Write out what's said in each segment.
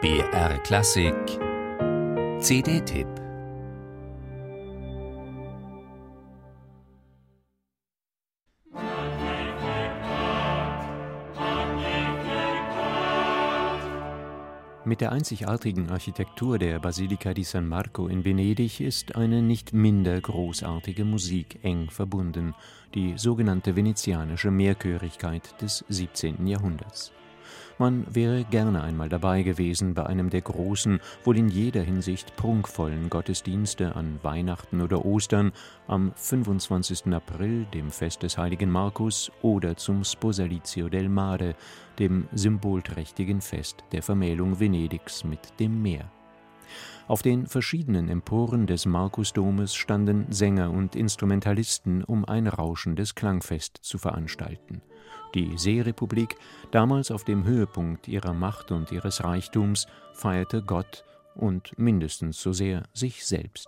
BR Klassik CD-Tipp. Mit der einzigartigen Architektur der Basilika di San Marco in Venedig ist eine nicht minder großartige Musik eng verbunden, die sogenannte venezianische Mehrchörigkeit des 17. Jahrhunderts. Man wäre gerne einmal dabei gewesen bei einem der großen, wohl in jeder Hinsicht prunkvollen Gottesdienste an Weihnachten oder Ostern, am 25. April, dem Fest des heiligen Markus, oder zum Sposalizio del Mare, dem symbolträchtigen Fest der Vermählung Venedigs mit dem Meer. Auf den verschiedenen Emporen des Markusdomes standen Sänger und Instrumentalisten, um ein rauschendes Klangfest zu veranstalten. Die Seerepublik, damals auf dem Höhepunkt ihrer Macht und ihres Reichtums, feierte Gott und mindestens so sehr sich selbst.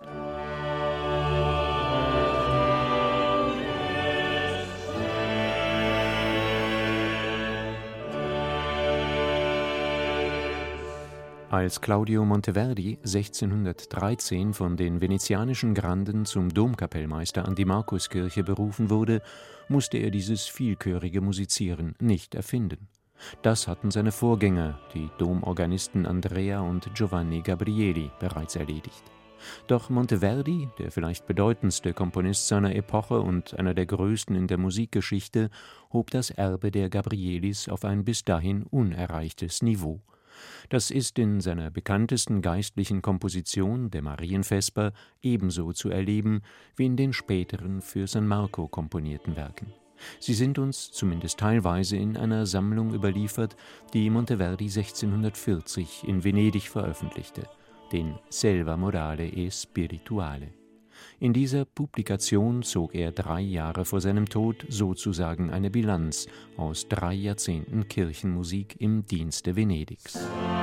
Als Claudio Monteverdi 1613 von den venezianischen Granden zum Domkapellmeister an die Markuskirche berufen wurde, musste er dieses vielchörige Musizieren nicht erfinden. Das hatten seine Vorgänger, die Domorganisten Andrea und Giovanni Gabrieli, bereits erledigt. Doch Monteverdi, der vielleicht bedeutendste Komponist seiner Epoche und einer der größten in der Musikgeschichte, hob das Erbe der Gabrielis auf ein bis dahin unerreichtes Niveau. Das ist in seiner bekanntesten geistlichen Komposition, der Marienvesper, ebenso zu erleben wie in den späteren für San Marco komponierten Werken. Sie sind uns zumindest teilweise in einer Sammlung überliefert, die Monteverdi 1640 in Venedig veröffentlichte, den Selva morale e spirituale. In dieser Publikation zog er 3 Jahre vor seinem Tod sozusagen eine Bilanz aus 3 Jahrzehnten Kirchenmusik im Dienste Venedigs.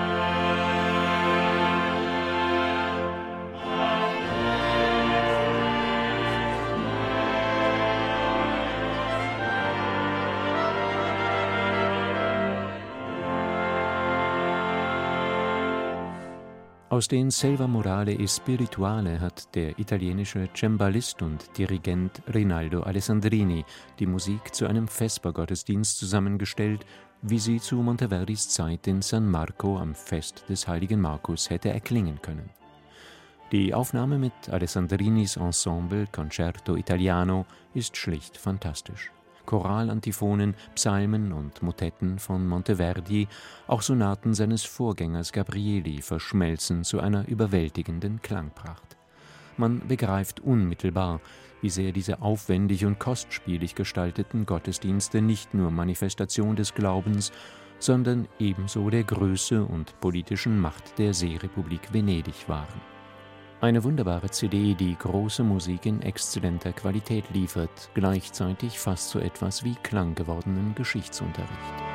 Aus den Selva morale e spirituale hat der italienische Cembalist und Dirigent Rinaldo Alessandrini die Musik zu einem Vespergottesdienst zusammengestellt, wie sie zu Monteverdis Zeit in San Marco am Fest des heiligen Markus hätte erklingen können. Die Aufnahme mit Alessandrinis Ensemble Concerto Italiano ist schlicht fantastisch. Choral-Antiphonen, Psalmen und Motetten von Monteverdi, auch Sonaten seines Vorgängers Gabrieli verschmelzen zu einer überwältigenden Klangpracht. Man begreift unmittelbar, wie sehr diese aufwendig und kostspielig gestalteten Gottesdienste nicht nur Manifestation des Glaubens, sondern ebenso der Größe und politischen Macht der Seerepublik Venedig waren. Eine wunderbare CD, die große Musik in exzellenter Qualität liefert, gleichzeitig fast so etwas wie klanggewordenen Geschichtsunterricht.